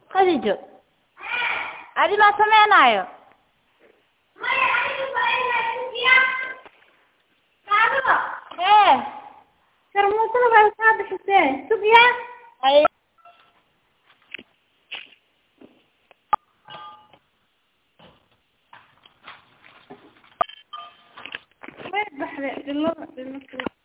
khadijo adi ma sameynayo sharmuutada baa kaa bixisee sugya way baxday